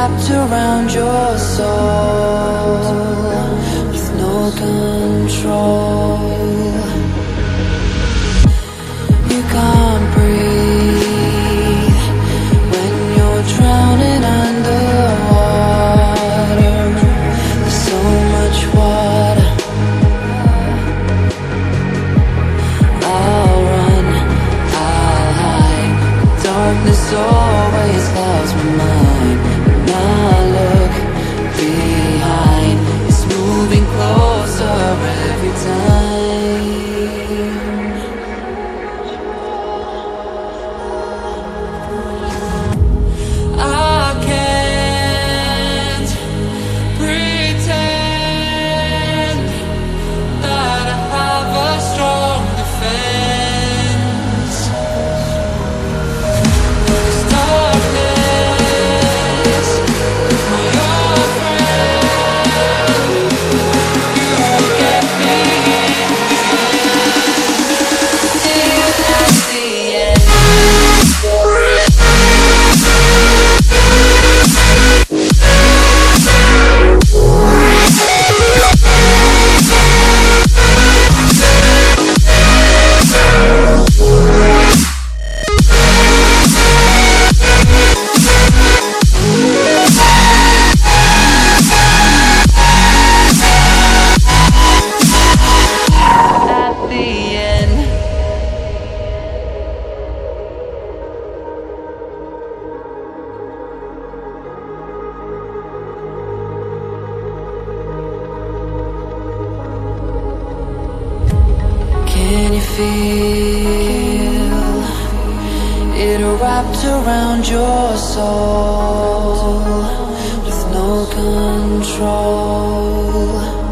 wrapped around your soul with no control. You can't breathe when you're drowning underwater. There's so much water. I'll run, I'll hide. Darkness always clouds my mind. When I look behind, it's moving closer every time. I can't pretend that I have a strong defense. 'Cause darkness is my old friend. You will get me till at the end. At the end. Can you feel it wrapped around your soul with no control?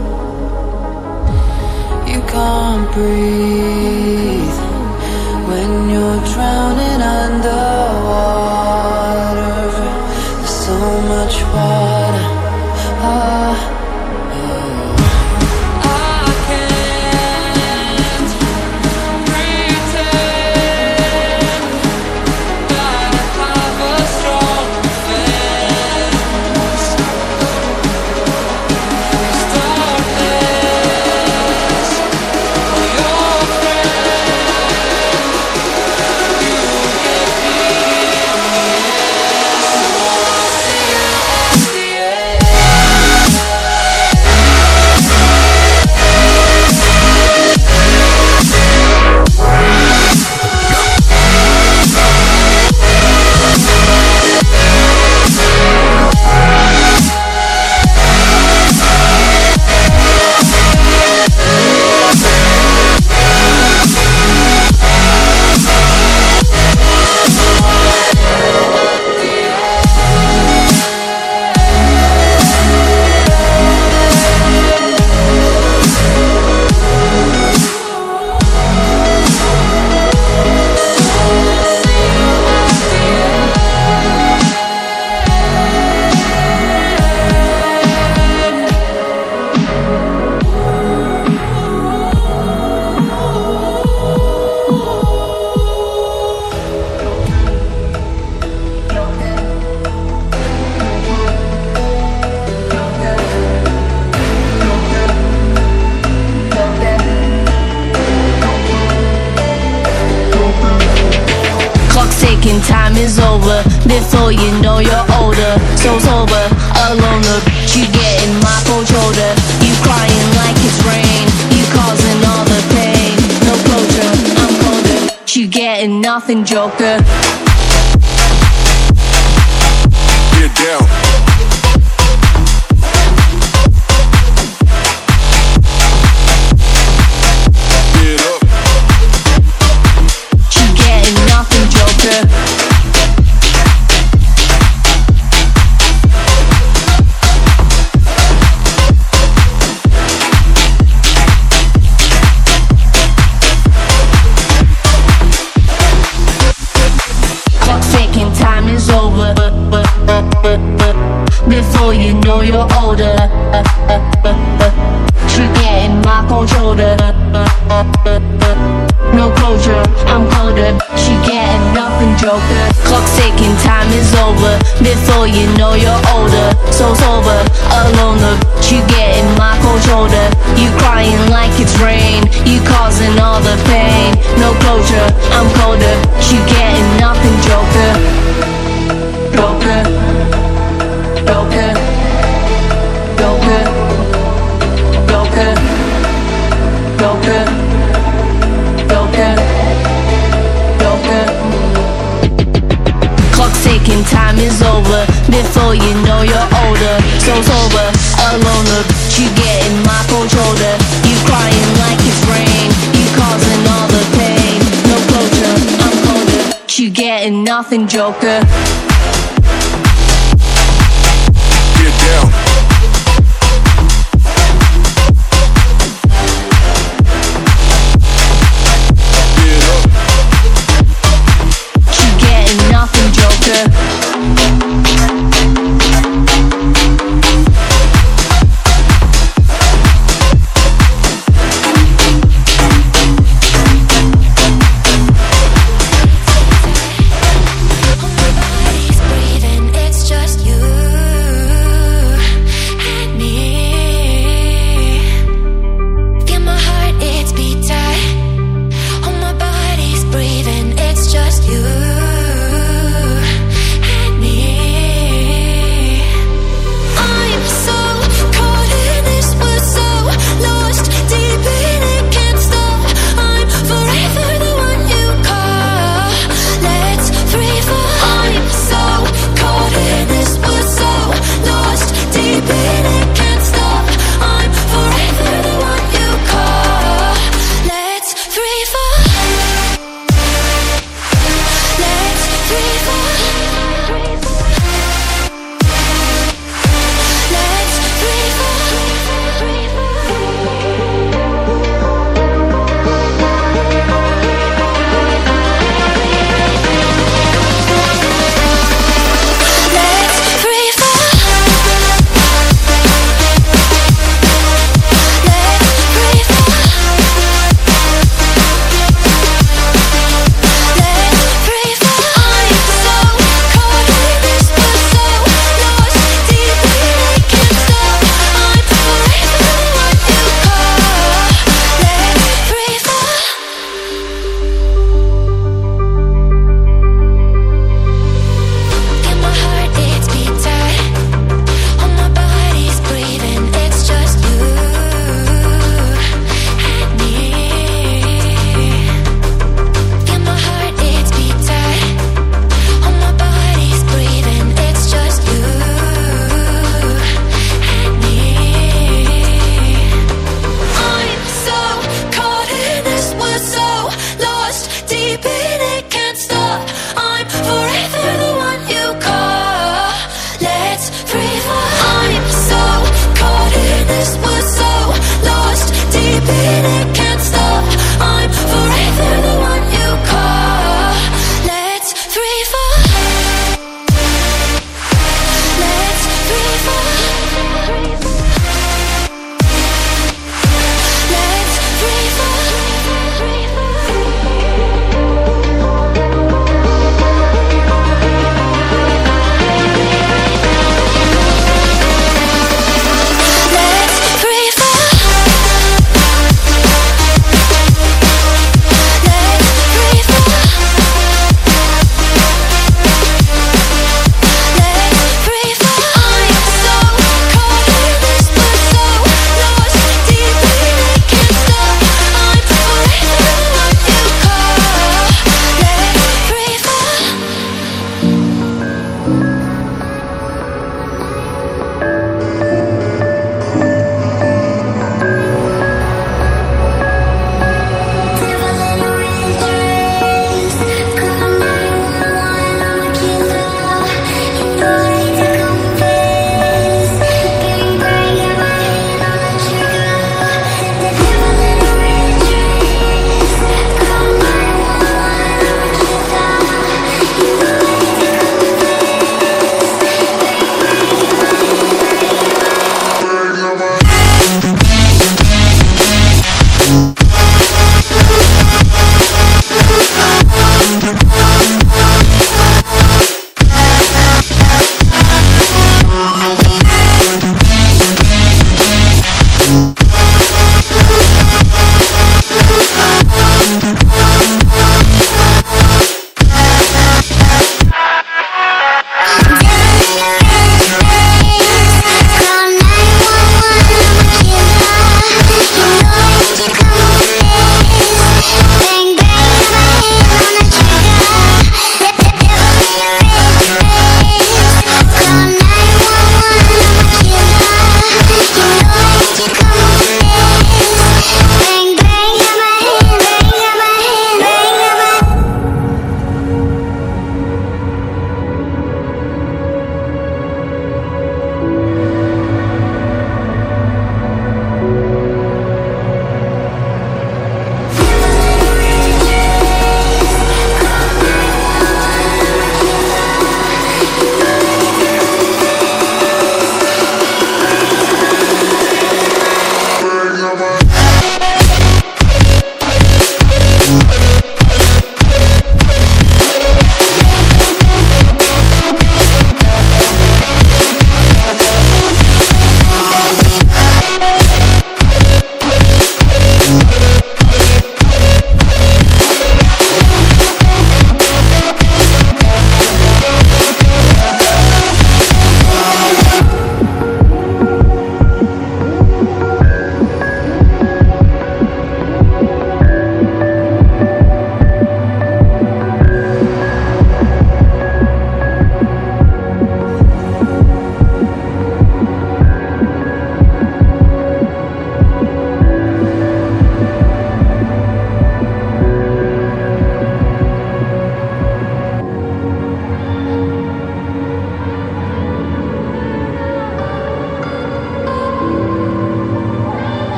You can't breathe when you're drowning underwater. There's so much water. I can't pretend that I have a strong defense. 'Cause darkness, my old friend, you get me in the end. So I'll see you at the end. Clock's ticking, time is over. Before you know you're older. So sober, alone, the bitch you getting my cold shoulder. You crying like it's rain. You causing all the pain. No closure, I'm colder. You getting nothing, Joker. Get down. Get up. You getting nothing, Joker. Clock's ticking, time is over. Before you know you're older. You getting my cold shoulder. No closure, I'm colder. She getting nothing, joker. Clock's ticking, time is over. Before you know you're older, so sober, alone the you getting my cold shoulder. You crying like it's rain, you causing all the pain. No closure, I'm colder, you getting nothing, joker. Joker, joker, joker, joker, joker, joker, joker. Clock's ticking, time is over. Before you know you're older, so sober, alone the you getting my cold shoulder. You crying like it's rain, you causing all the pain. No closure, I'm colder, you getting nothing, joker. Get down. Get up. You getting nothing, joker.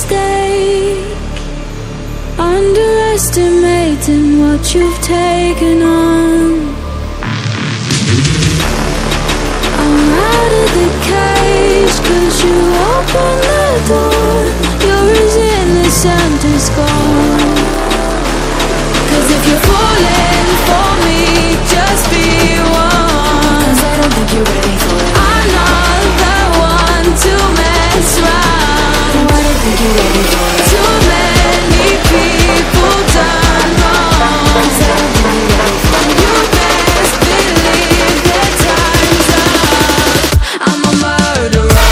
mistake, underestimating what you've taken on. I'm out of the cage, 'cause you opened the door. You're as innocent as gone. 'Cause if you're falling for me, just be one. 'Cause I don't think you're ready for it. I'm not the one to mess around. No, I don't think you're ready for it. Too many people done wrong. 'Cause I don't think you're ready for it. You best believe that time's up. I'm a murderer.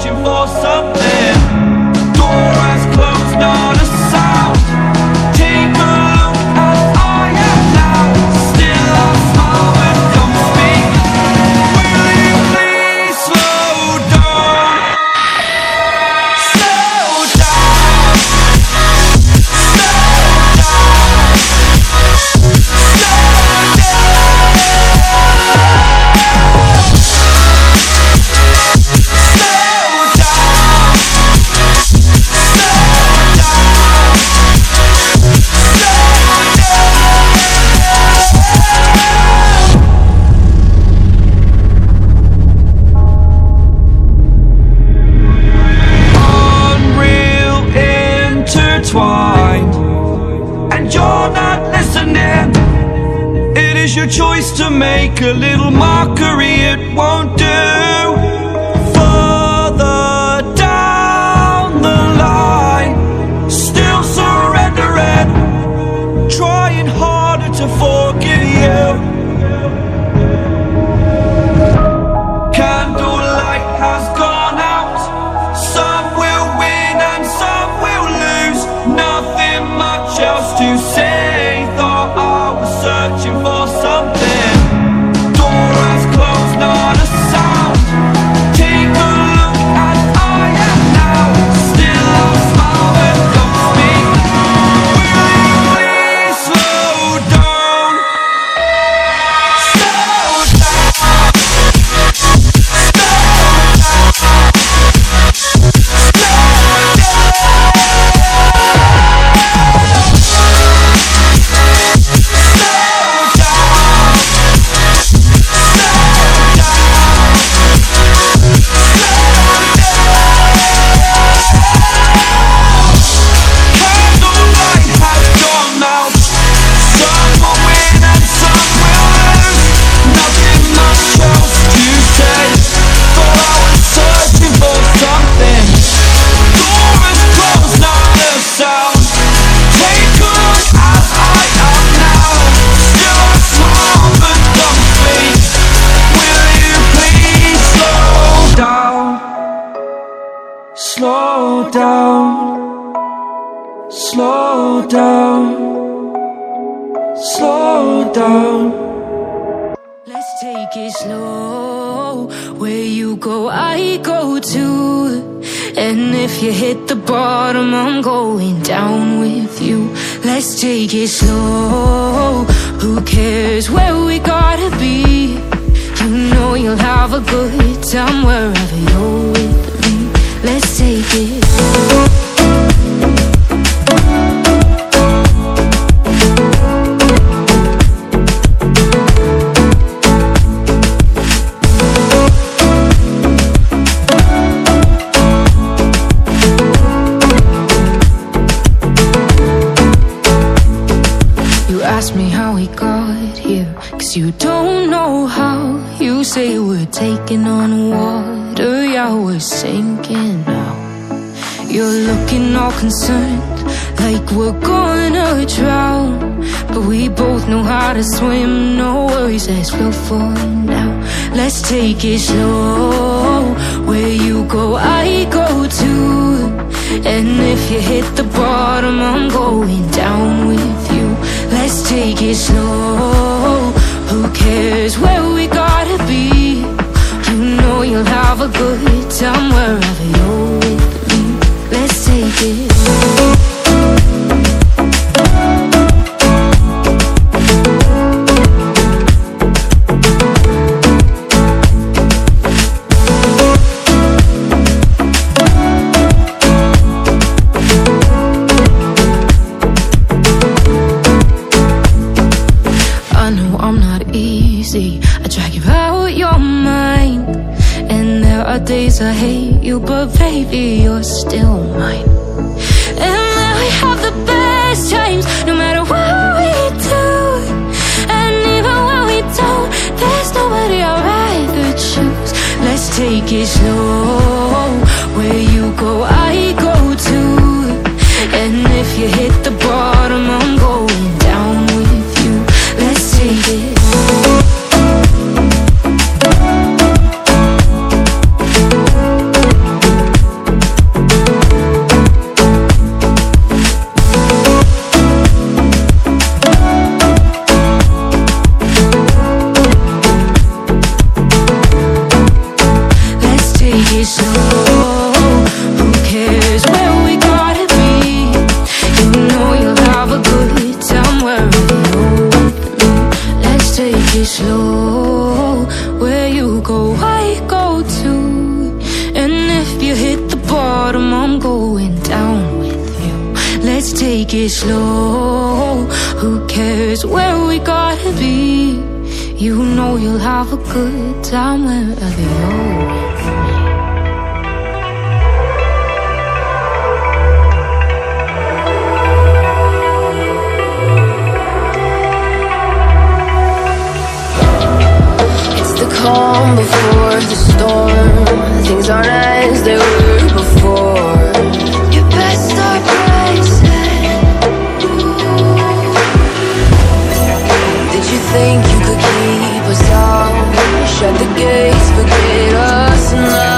searching for something. Door has closed, not a sound. Take a look as I am now. Still I smile but don't speak. Will you please slow down? Slow down. And you're not listening. It is your choice to make a little mockery, it won't do. Further down the line, still surrendering, trying harder to forgive you. Candlelight has gone out. Some will win and some will lose. Nothing much else to say. Thought I was searching for something. Door has closed, not a sound. Take a look as I am now. Still I smile but don't speak. Will you please slow down? Slow down. Slow down, slow down, slow down. Let's take it slow. Where you go, I go too. And if you hit the bottom, I'm going down with you. Let's take it slow. Who cares where we gotta be? You know you'll have a good time wherever you're with me. Let's take it. You ask me how we got here, 'cause you don't know how. You say we're taking on water, yeah, we're sinking now. You're looking all concerned, like we're gonna drown. But we both know how to swim, no worries, let's flow for now. Let's take it slow. Where you go, I go too. And if you hit the bottom, I'm going down with you. Let's take it slow. Who cares where we gotta be? You know you'll have a good time wherever you're with me. Let's take it. I know I'm not easy. I drag you out your mind. And there are days I hate you, but baby, you're still mine. And then we have the best times, no matter what we do. And even when we don't, there's nobody I'd rather choose. Let's take it slow. Where you go, I go too. And if you hit the bottom, I'm going down with you. Let's take it. Who cares where we gotta be? You know you'll have a good time wherever you're with me. Let's take it slow. Where you go, I go too. And if you hit the bottom, I'm going down with you. Let's take it slow. Who cares where we gotta be? You know you'll have a good time wherever you're with me. Calm before the storm. Things aren't as they were before. You best start racing. Did you think you could keep us out? Shut the gates, forget us now.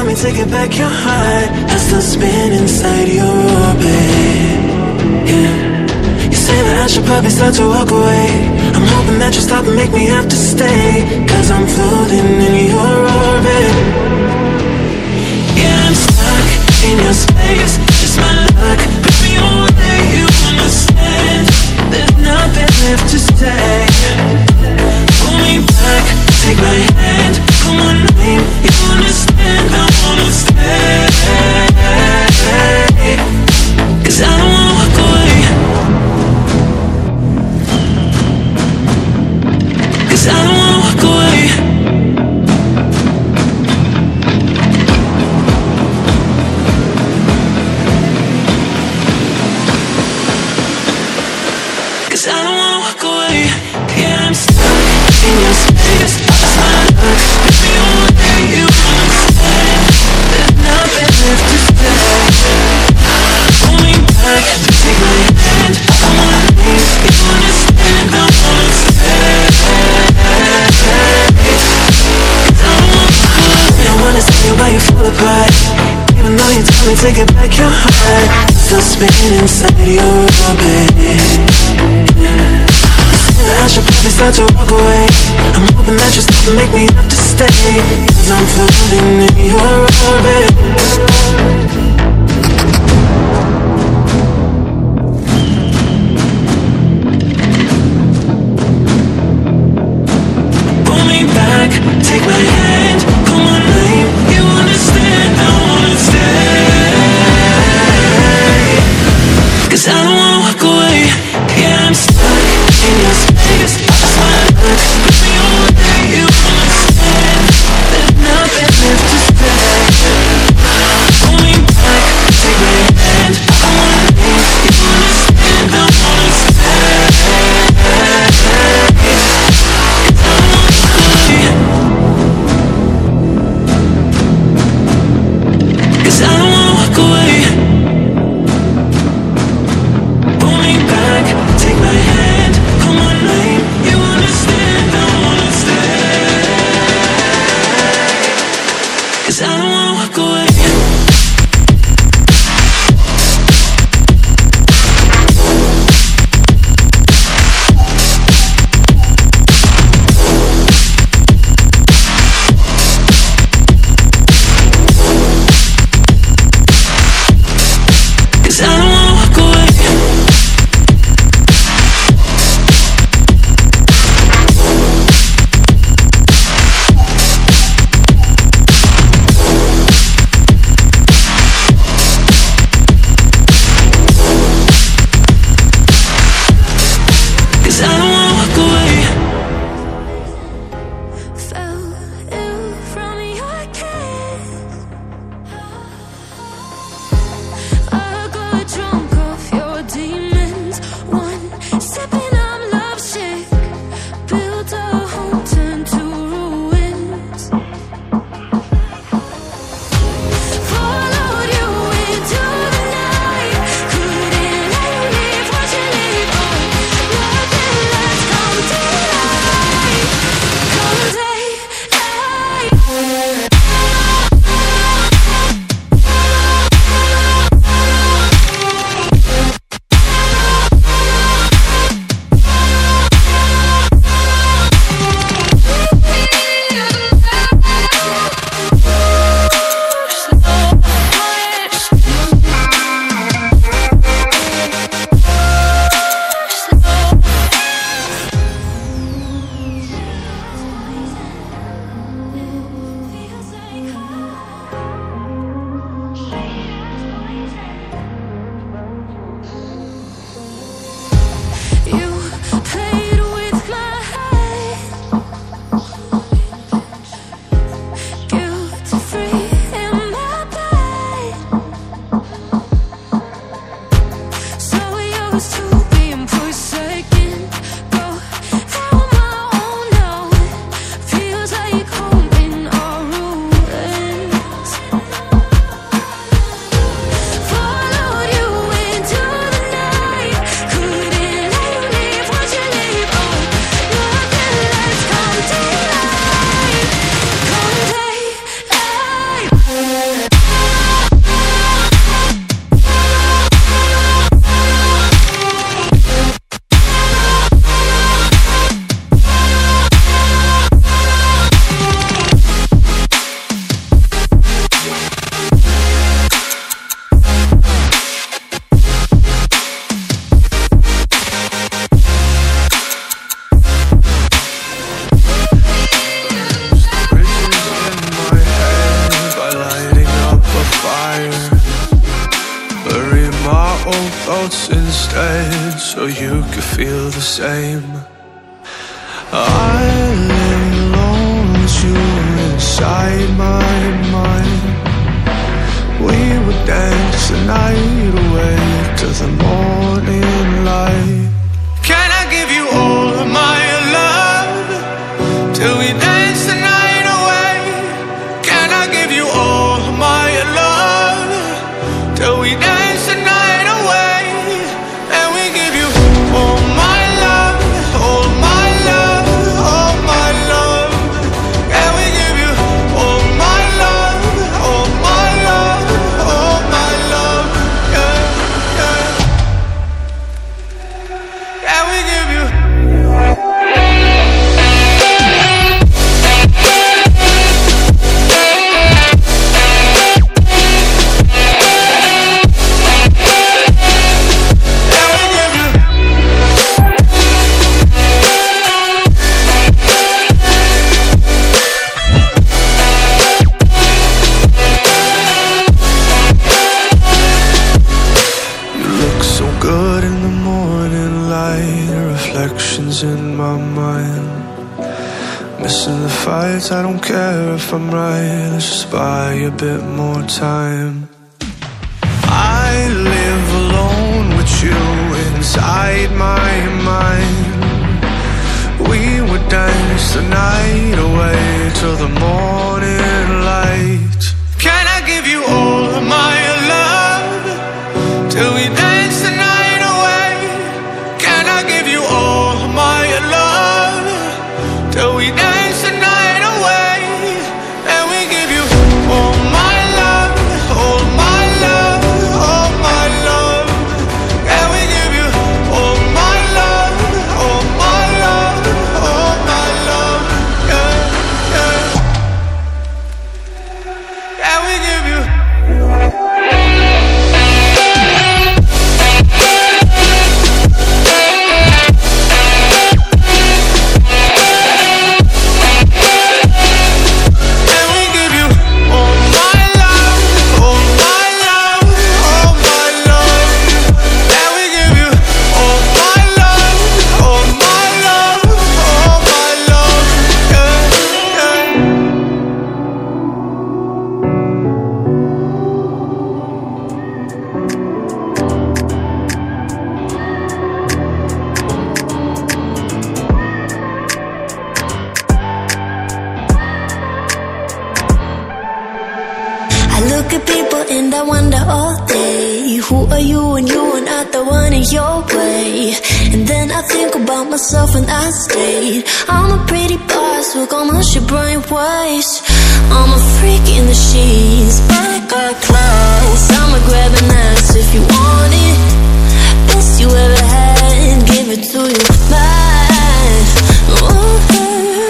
me to get back your heart. I still spin inside your orbit. Yeah. You say that I should probably start to walk away. I'm hoping that you stop and make me have to stay, 'cause I'm floating in your orbit. Yeah, I'm stuck in your space, just my luck. Put me away, you understand. There's nothing left to say. Pull me back, take my hand, call my name, you understand. I wanna stay, 'cause I don't wanna walk away. 'Cause I don't wanna walk away. 'Cause I don't wanna walk away. Yeah, I'm stuck in your space, just my luck. Put me away, you understand. There's nothing left to say. Pull me back, take my hand, I wanna leave, you understand. I wanna stay, 'cause I don't wanna walk away. I wanna see why you fall apart, even though you told me to get back your heart. Still spinning inside your orbit. I should probably start to walk away. I'm hoping that you stop and make me have to stay, 'cause I'm floating in your orbit. Pull me back, take my hand, call my name, you understand. I wanna stay, 'cause I don't wanna walk away. Yeah, I'm stuck in your space, just my luck. Put me away, you understand. There's nothing left to say. Pull me back. tread so you could feel the same. I lay alone with you inside my mind. We would dance the night away to the morning light. Can I give you all of my love till we dance the night away? Can I give you all of my love till we dance the night away? And we give you all my love, all my love, all my love. And we give you all my love, all my love, all my love. Yeah, yeah. And we give you. Good in the morning light, reflections in my mind. Missing the fights, I don't care if I'm right. Let's just buy a bit more time. I live alone with you inside my mind. We would dance the night away till the morning light. Can I give you all of my love till we dance the night away? Can I give you all of my love till we dance the night away? And we give you all my love, all my love, all my love. And we give you all my love, all my love, all my love. Yeah, yeah. And we give you. Look at people and I wonder all day, who are you and you are not the one in your way. And then I think about myself and I state, I'm a pretty boss with almost your brain waves. I'm a freak in the sheets, but I got class. I'ma grab an ass if you want it. Best you ever had, give it to you back. Ooh.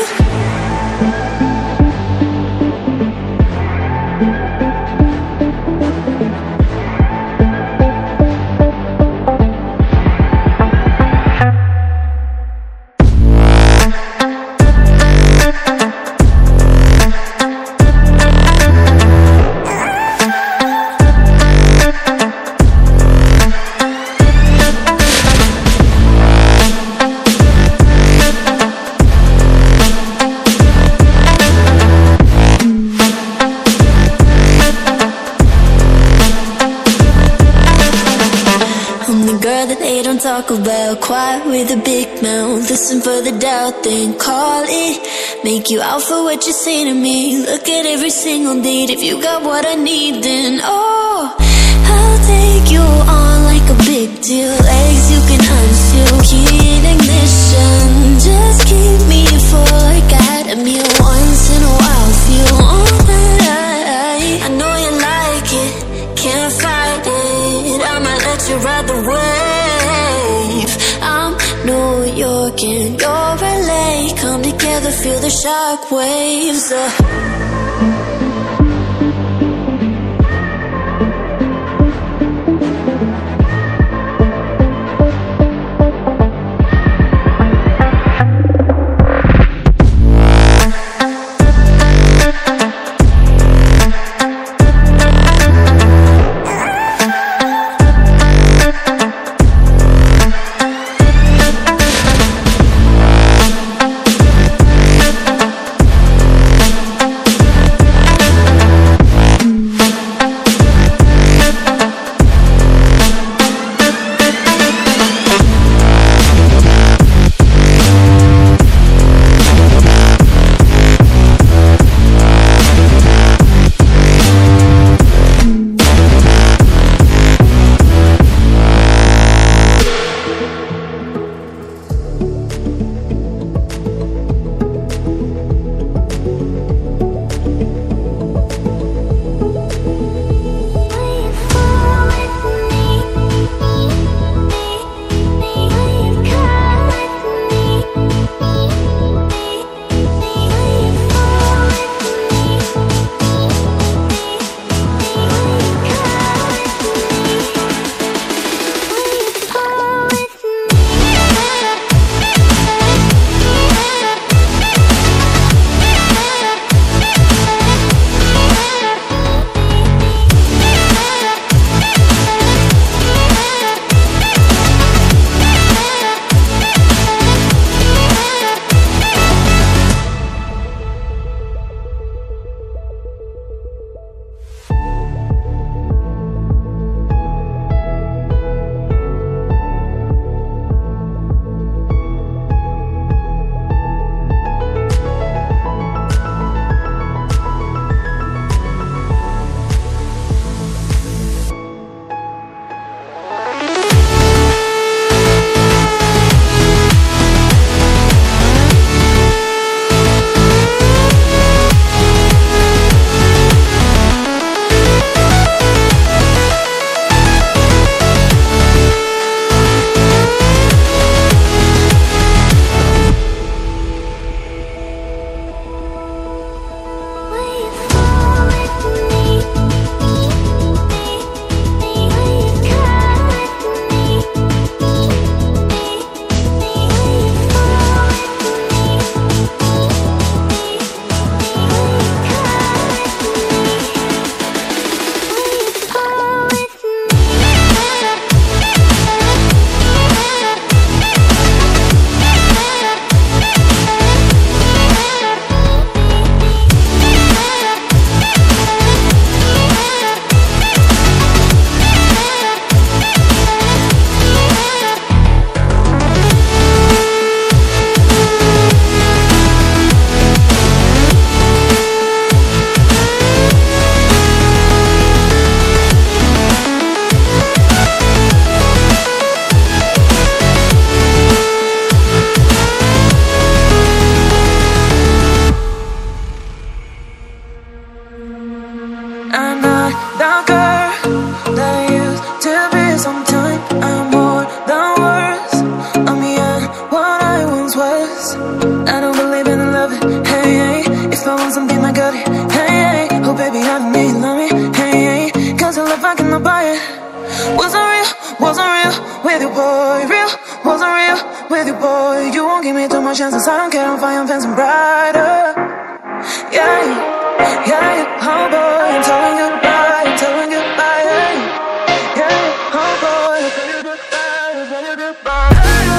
Talk about quiet with a big mouth. Listen for the doubt, then call it. Make you out for what you say to me. Look at every single date. If you got what I need, then oh, I'll take you on like a big deal. Legs you can unseal, key in ignition. Just keep me full like I had a meal. Once in a while, feel alright. I know you like it, can't fight it. I might let you ride the wave. I'm New York and you're LA. Come together, feel the shock waves. worse. I don't believe in love, hey, hey. If I want something, I got it, hey, hey. Oh baby, I don't need love me, hey, hey. Cause your love I cannot buy it. Wasn't real with you, boy. Real, wasn't real with you, boy. You won't give me too much chances, I don't care if I am fancy brighter. Yeah, yeah, oh boy, I'm telling you goodbye, I'm telling you goodbye, yeah, yeah, oh boy, I'm telling you goodbye, I'm telling you goodbye.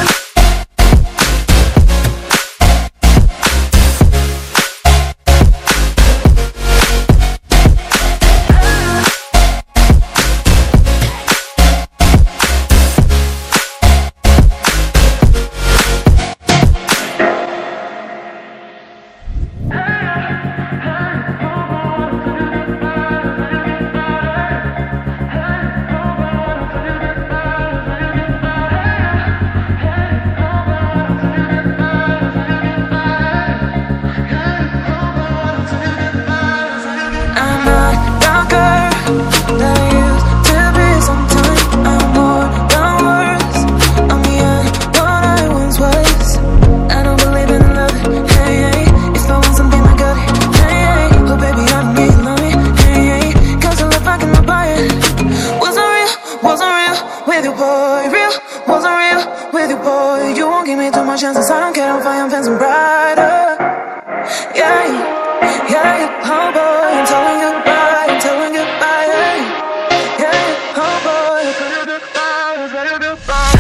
Chances, I don't care if I am fancy brighter. Yeah, yeah, oh boy, I'm telling you goodbye, I'm telling you goodbye, yeah, yeah, oh boy, I'm telling you goodbye, I'm telling you goodbye.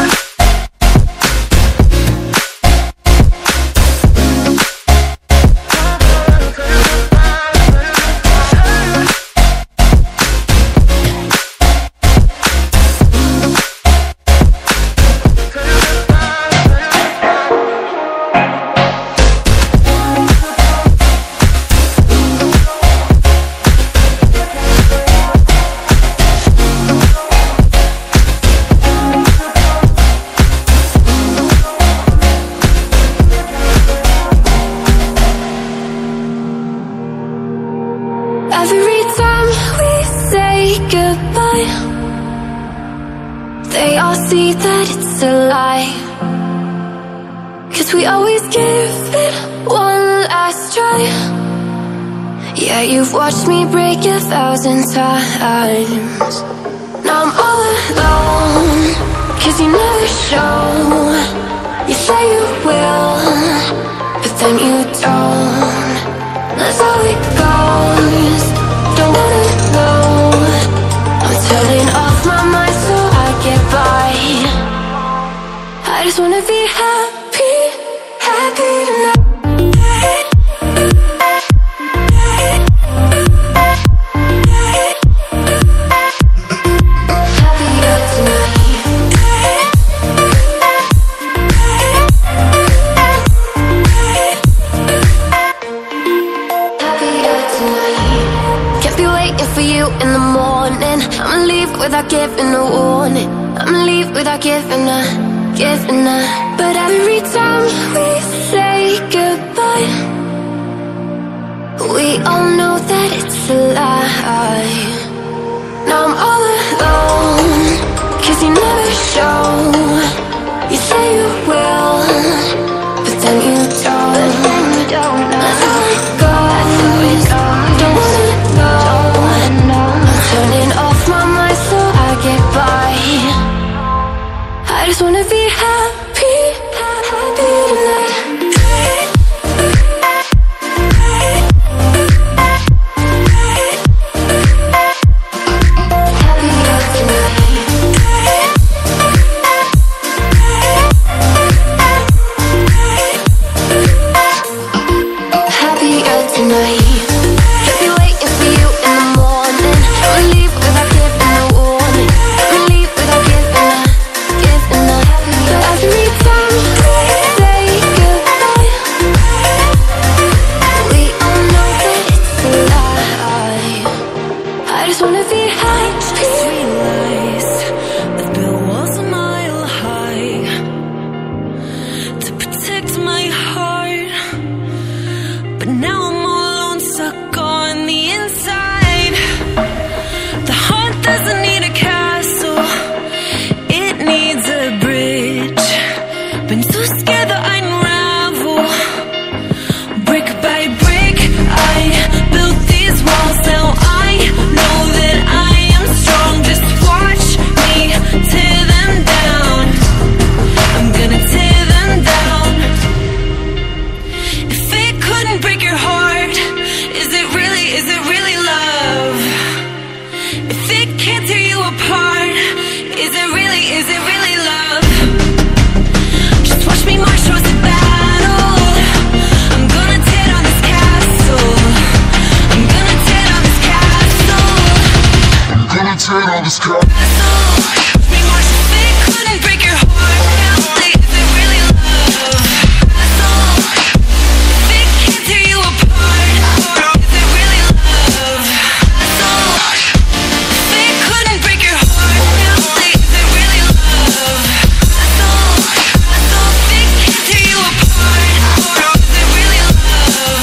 Every time we say goodbye, they all see that it's a lie. 'Cause we always give it one last try. Yeah, you've watched me break 1,000 times. Now I'm all alone, 'cause you never show. You say you will, but then you don't. That's how it goes. Don't wanna know. I'm turning off my mind so I get by. I just wanna be happy, happy tonight. In the morning, I'ma leave without giving a warning. I'ma leave without giving a. But every time we say goodbye, we all know that it's a lie. Now I'm all alone, 'cause you never show. You say you will, but then you don't. That's how it goes. Don't wanna know. Turning off my mind so I get by. I just wanna be happy, happy tonight. Happy tonight. the sky. Me more so they couldn't break your heart. Is it really love? They can't tear you apart. Is it really love? They couldn't break your heart. Is it really love? They can't tear you apart. Is it really love?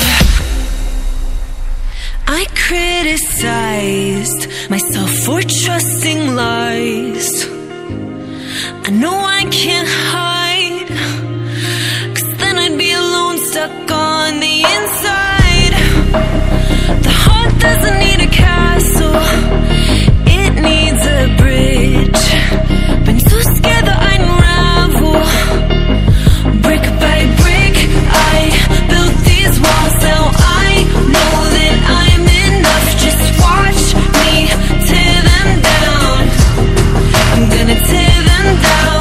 I criticized myself for trusting lies. I know I can't hide, 'cause then I'd be alone, stuck on the inside. The heart doesn't need a castle, it needs a bridge. Been so scared that I'd unravel. Brick by brick, I built these walls. Now I know that I'm enough. Just watch me tear them down. I'm gonna tear them down.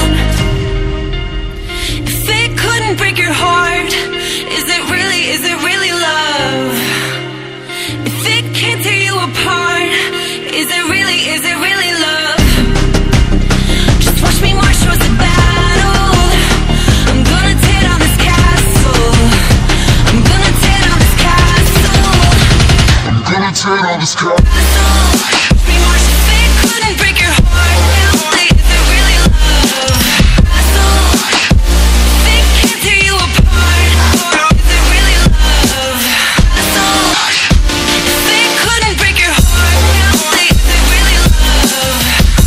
If it couldn't break your heart, is it really love? If it can't tear you apart, is it really love? Just watch me march towards the battle. I'm gonna tear down this castle. I'm gonna tear down this castle. I'm gonna tear down the sky. Watch me march if it couldn't break your heart. Is it really love? They can't tear you apart. Is it really love? They couldn't break your heart. Is it really love?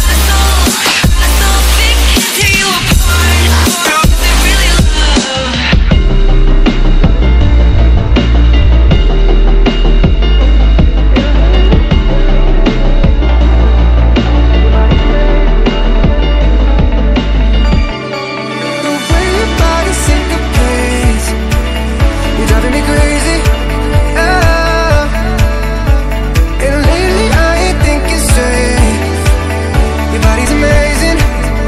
They can't tear you apart. Is it really love? The way your body syncopates, you're driving me crazy. And lately I ain't thinking straight. Your body's amazing.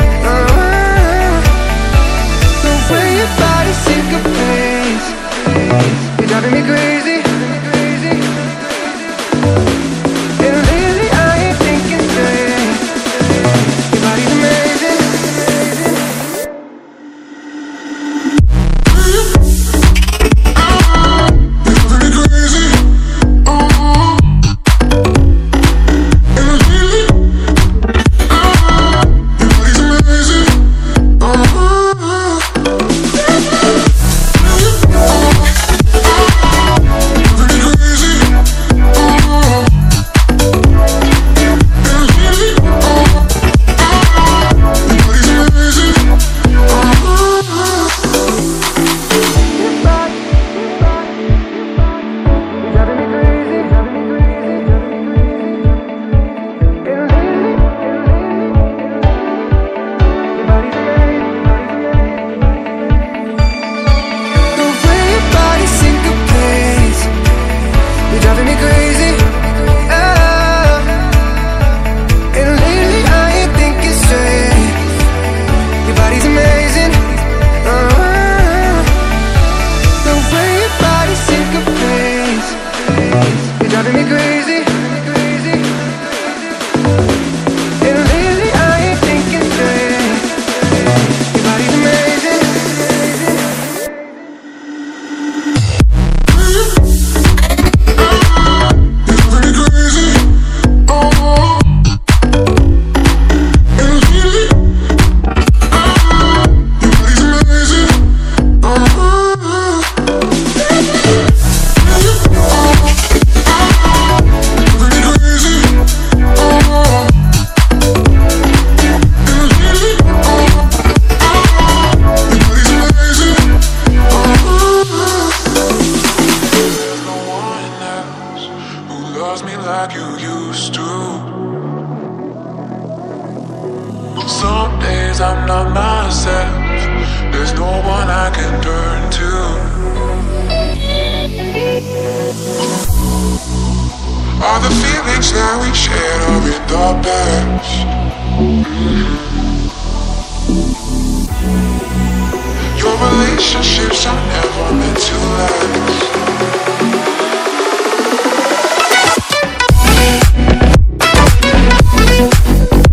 The way your body syncopates, you're driving me crazy. And lately I ain't thinking straight. Your body's amazing. The way your body syncopates, you're driving me crazy. And lately I ain't thinking straight. Your body's amazing. The way your body syncopates, you're driving me crazy. And lately I ain't thinking straight. Your body's amazing. There's no one else who loves me like you used to. Some days I'm not myself. There's no one I can turn to. All the feelings that we shared are in the past. Your relationships are never meant to last.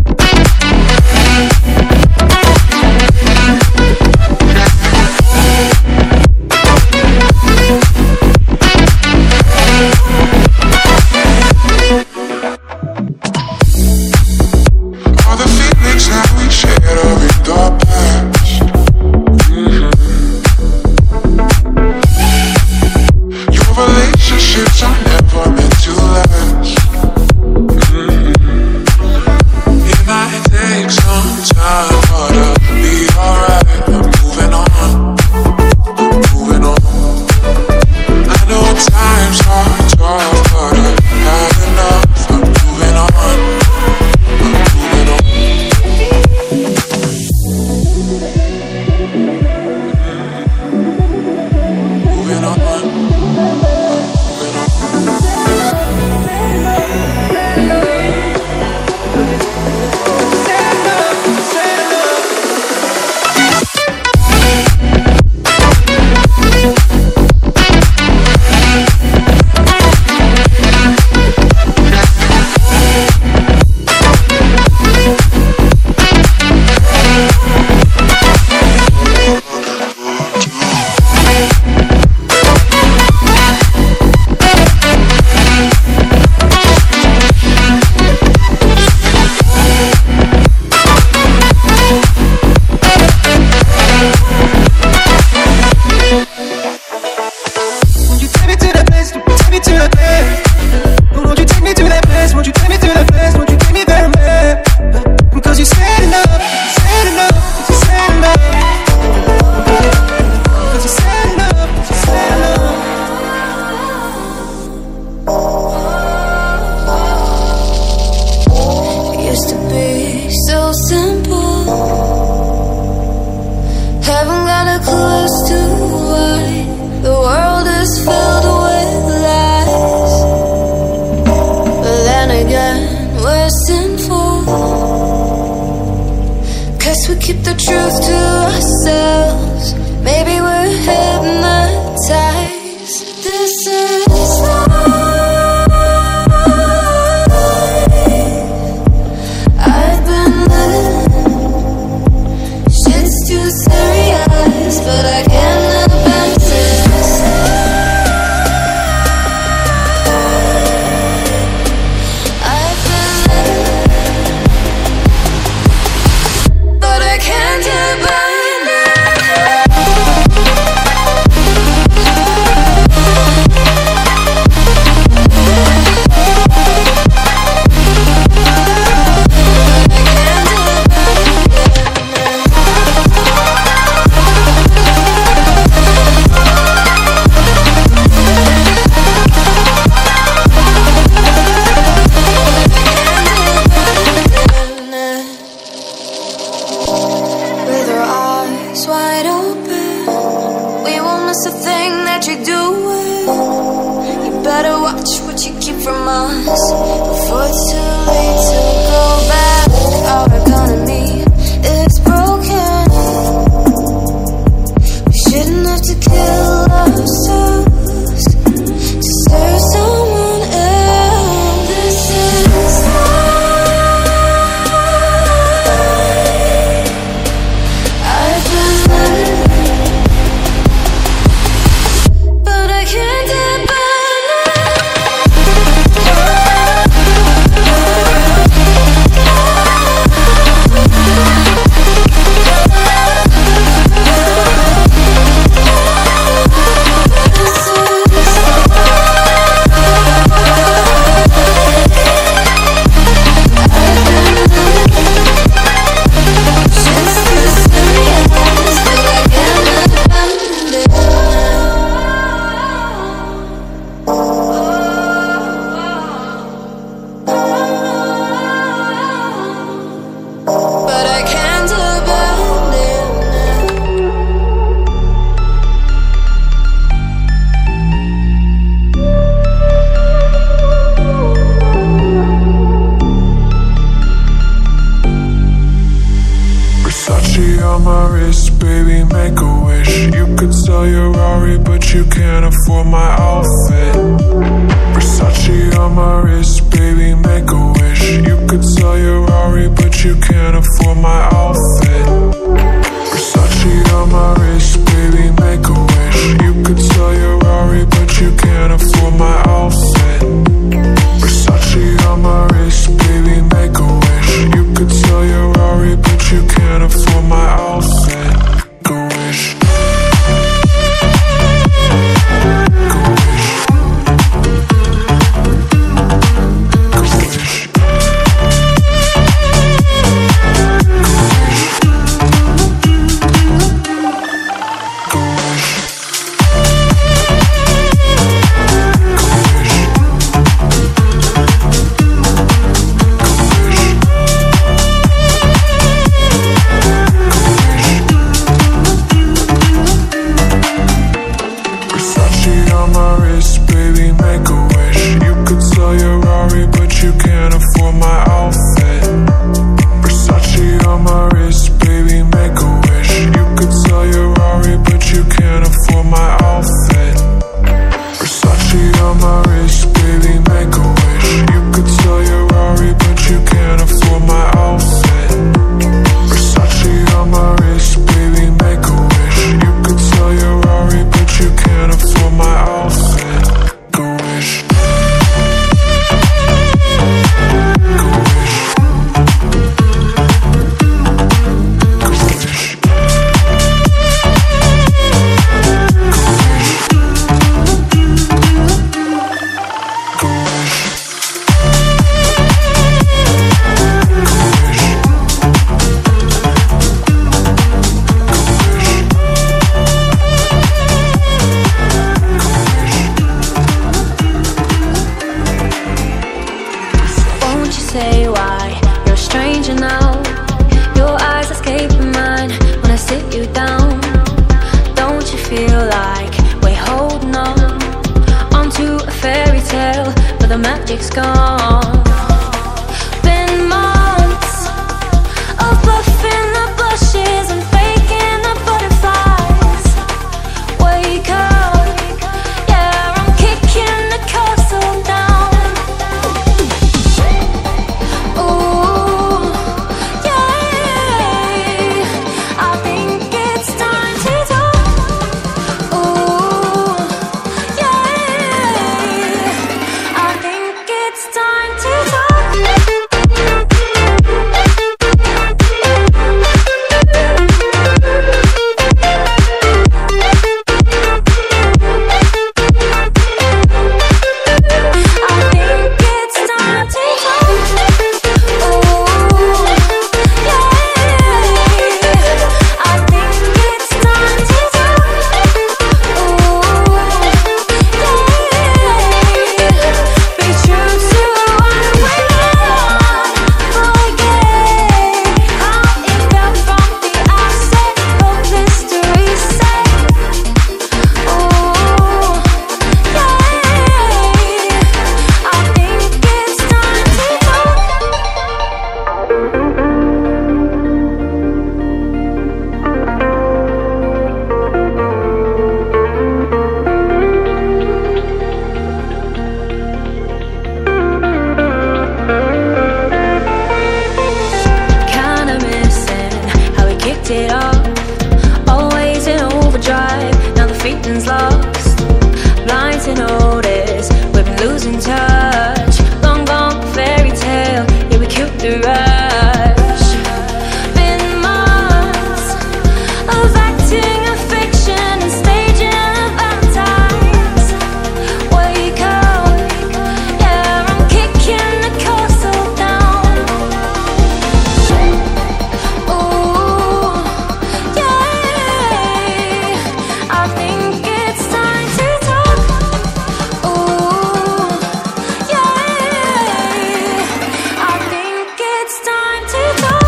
keep the truth to ourselves. Maybe we're hypnotized. This is life. I've been living. Shit's too serious, but I can't abandon this. I've been living, but I can't abandon it. With our eyes wide open, we won't miss a thing that you're doing. You better watch what you keep from us before it's too late to go back. Our economy is broken. We shouldn't have to kill ourselves to serve someone else. This is life. I've been living, but I can't abandon but I can't abandon it. Versace on my wrist, baby, make a wish. You could sell your Rari, but you can't afford my outfit. Versace on my wrist, baby, make a wish. You could sell your Rari, but you can't afford my outfit. Versace on my wrist, baby, make a wish. You could sell your Rari, but you can't afford my outfit. Versace on my wrist, baby, make a wish. You could sell your Rari, but you can't afford my outfit. Go wish. Go wish. Go wish. Go wish. Versace on my wrist, baby, make a wish. You could sell your Rari, but you can't afford my outfit. Versace on my wrist, baby, make a wish. You could sell your Rari, but you can't afford my outfit. Versace on my wrist, baby, make a wish. You could sell your Rari, but you can't afford my outfit. Versace on my wrist, baby, make a wish. You could sell your Rari, but you can't afford my outfit. Go wish. Go wish. Go wish. Go wish. Won't you say why you're a stranger now? Your eyes escape mine when I sit you down. Don't you feel like we're holding on onto a fairy tale, but the magic's gone? Been months of buffing the bus ashes and faking the butterflies. Wake up, yeah, I'm kicking the castle down. Ooh, yeah, I think it's time to talk. Ooh, yeah, I think it's time to talk. It off, always in overdrive. Now the feeling's lost, blind to notice we've been losing touch. Long gone fairy tale, yeah, we killed the rush. Been months of acting a fiction and staging a Valentine's. Wake up, yeah, I'm kicking the castle down. Ooh, I think it's time to talk. Ooh, yeah, I think it's time to talk.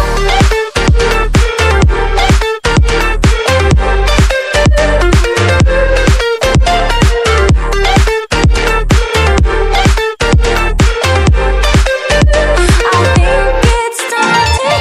I think it's time to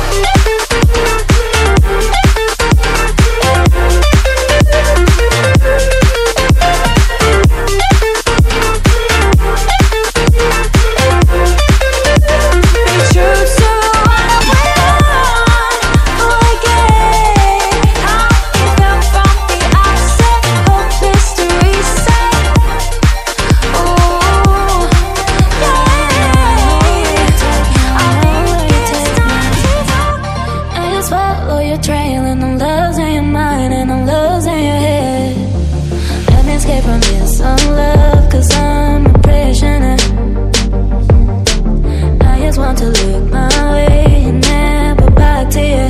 trail and the love's in your mind and the love's in your head. Let me escape from this love, cause I'm a prisoner. I just want to look my way and never back to you.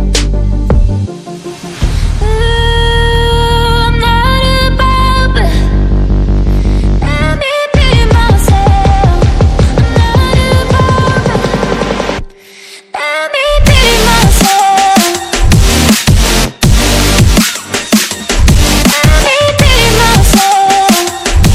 Ooh, I'm not above, let me be myself. I'm not above, let me be myself. Let me be myself.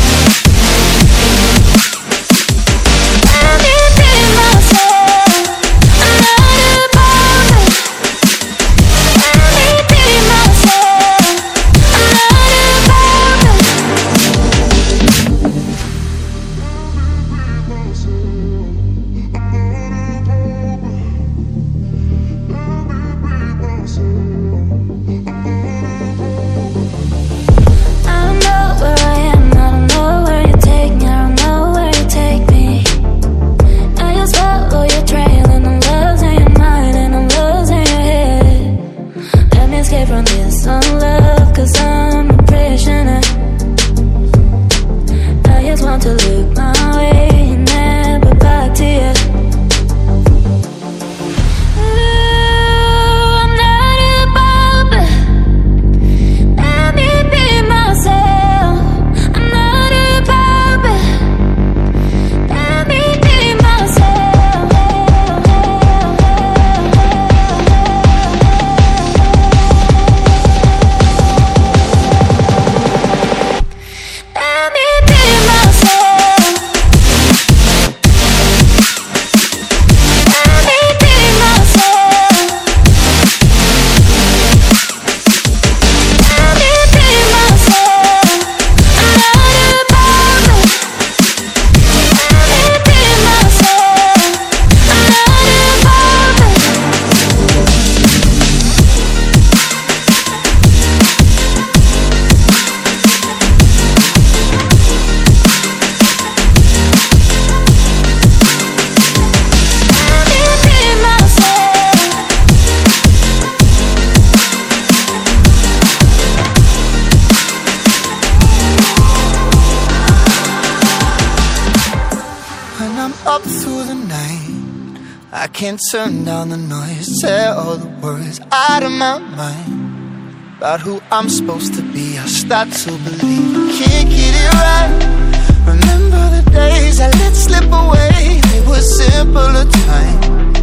up through the night. I can't turn down the noise, tear all the words out of my mind about who I'm supposed to be. I start to believe I can't get it right. Remember the days I let slip away, they were simpler times.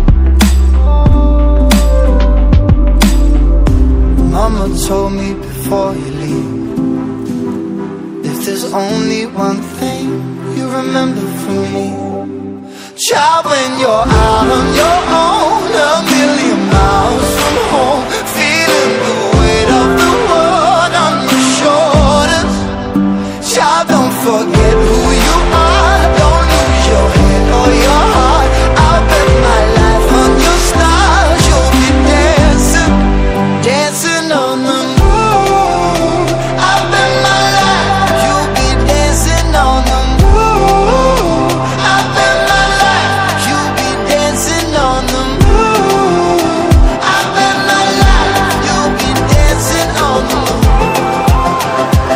Mama told me before you leave, if there's only one thing you remember from me, child, when you're out on your own, a million miles from home, feeling the weight of the world on your shoulders. Child, don't forget who you are, don't lose your head or your heart. I'll bet my life on your stars, you'll be dancing, dancing on the moon. I'll bet my life, you'll be dancing on the moon. I'll bet my life, you'll be dancing on the moon. I'll bet my life, you'll be dancing on the moon.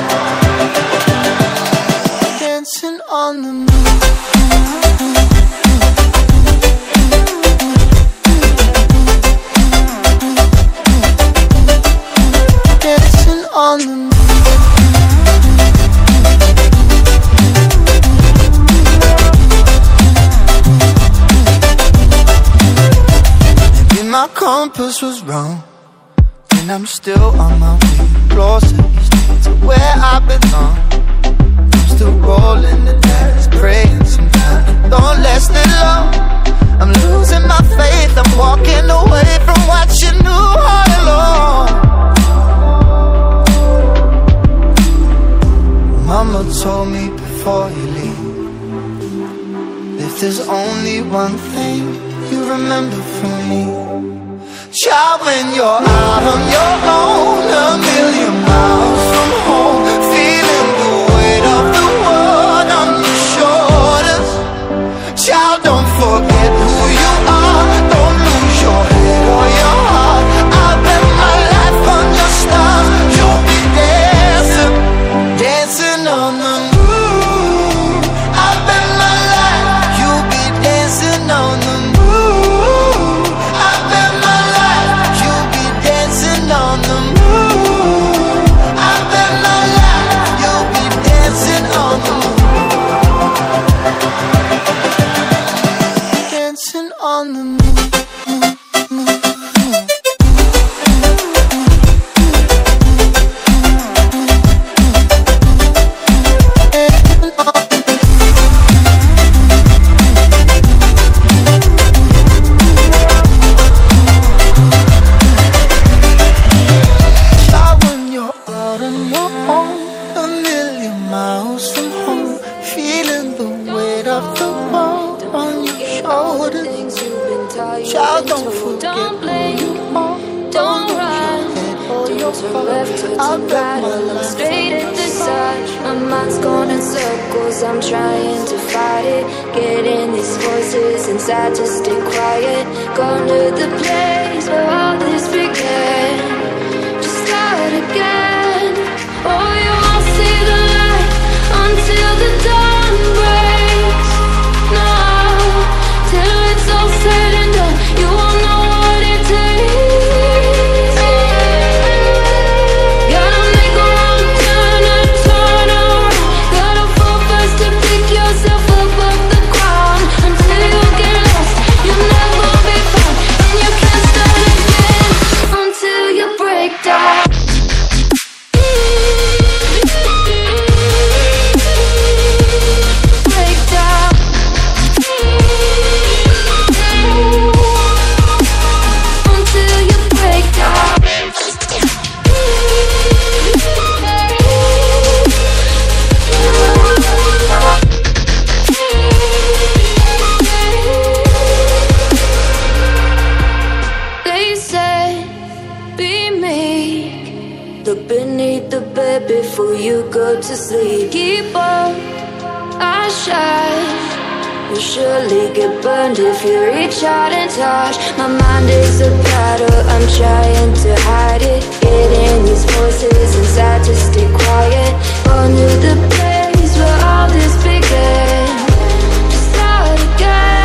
Dancing on the moon. Dancing on the moon. Maybe my compass was wrong, and I'm still on my way closer each day to where I belong. I'm still rolling the dice, praying sometimes don't last it long. I'm losing my faith, I'm walking away from what you knew all along. Mama told me before you leave, if there's only one thing you remember from me, child, when you're out on your own, a million miles from home, feeling the weight of the world on your shoulders. Child, don't forget who you are, don't lose your head or your heart. I'll bet my life on your stars, you'll be dancing, dancing on the moon. I'll bet my life, you'll be dancing on the moon. I'll bet my life, you'll be dancing on the moon. I'll bet my life, you'll be dancing on the moon. Dancing on the moon. Child, when you're out on your own, a million miles from home, feeling the weight of the world on your shoulders. Child, don't forget who you are, don't run, don't turn left, turn right, look straight at the sun. My mind's going in circles, I'm trying to fight it, getting these voices inside to stay quiet. Gone to the place where all this began, just start again. Oh, you won't see the light until the dawn breaks. No, till it's all said and done, you won't know what it takes. Gotta make a wrong turn and turn around. Gotta fall fast to pick yourself up off the ground. Until you get lost, you'll never be found, and you can't start again until you break down. Break down. Until you break down. They say, be meek, look beneath the bed before you go to sleep. Keep on, I shine. You'll surely get burned if you reach out and touch. My mind is a battle, I'm trying to hide it, getting these voices inside to stay quiet. Gone to the place where all this began, to start again.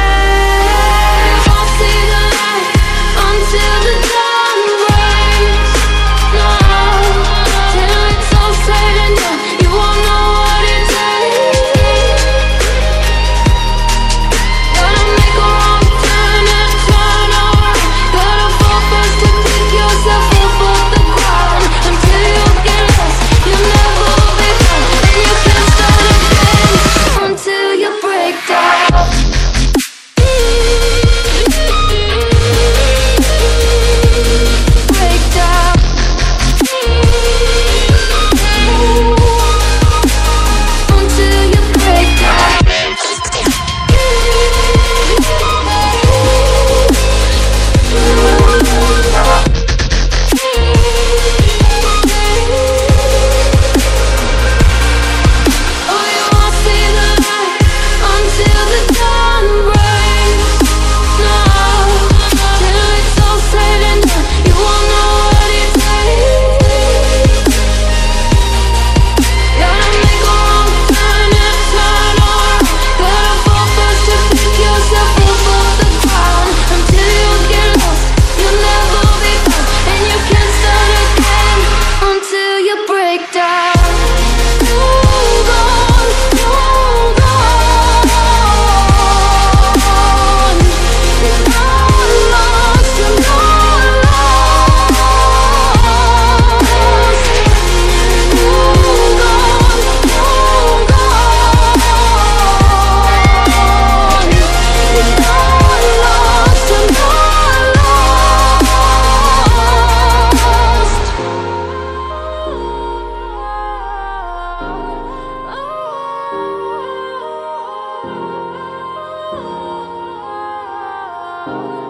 out.